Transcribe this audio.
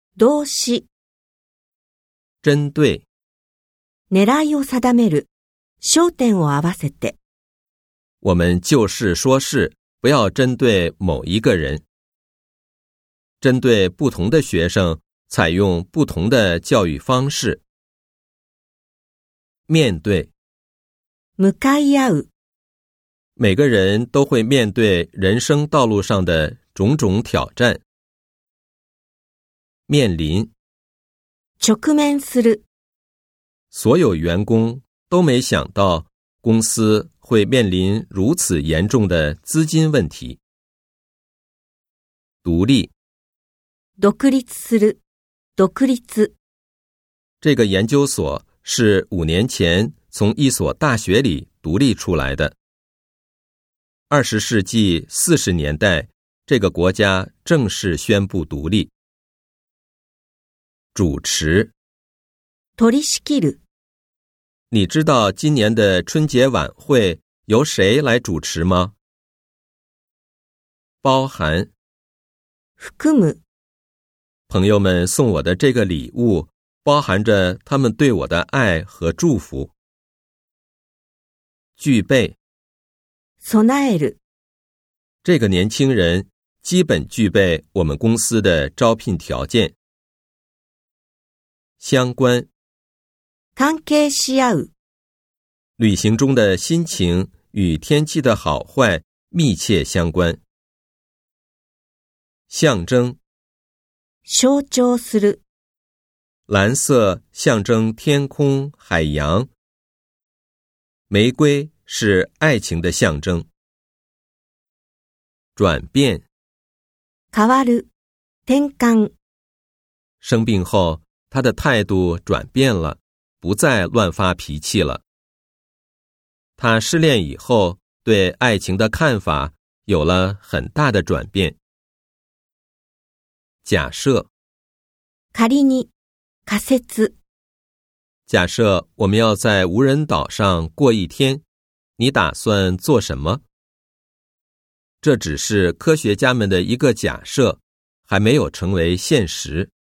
動詞、 针对、 狙いを定める、焦点を合わせて。 我们就事说事，不要针对某一个人。针对不同的学生，采用不同的教育方式。面对， 向かい合う、 每个人都会面对人生道路上的种种挑战。面临， 直面する、 所有员工都没想到公司会面临如此严重的资金问题。独立， 独立する、独立。 这个研究所是5年前从一所大学里独立出来的。20世纪40年代，这个国家正式宣布独立。主持， 取り仕切る、 你知道今年的春节晚会由谁来主持吗？包含， 含む、 朋友们送我的这个礼物，包含着他们对我的爱和祝福。具备， 備える、 这个年轻人基本具备我们公司的招聘条件。相关， 関係し合う、 旅行中的心情与天气的好坏密切相关。象征， 象徴する、 蓝色象征天空、海洋。玫瑰是爱情的象征。转变， 変わる、転換。 生病后，他的态度转变了，不再乱发脾气了。他失恋以后，对爱情的看法有了很大的转变。假设， 仮に、仮説。 假设我们要在无人岛上过一天，你打算做什么？这只是科学家们的一个假设，还没有成为现实。